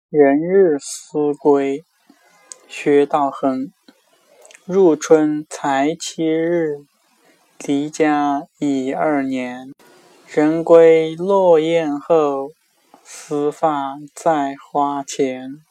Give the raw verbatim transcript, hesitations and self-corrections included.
人日思归，薛道衡。入春才七日，离家已二年。人归落雁后，思发在花前。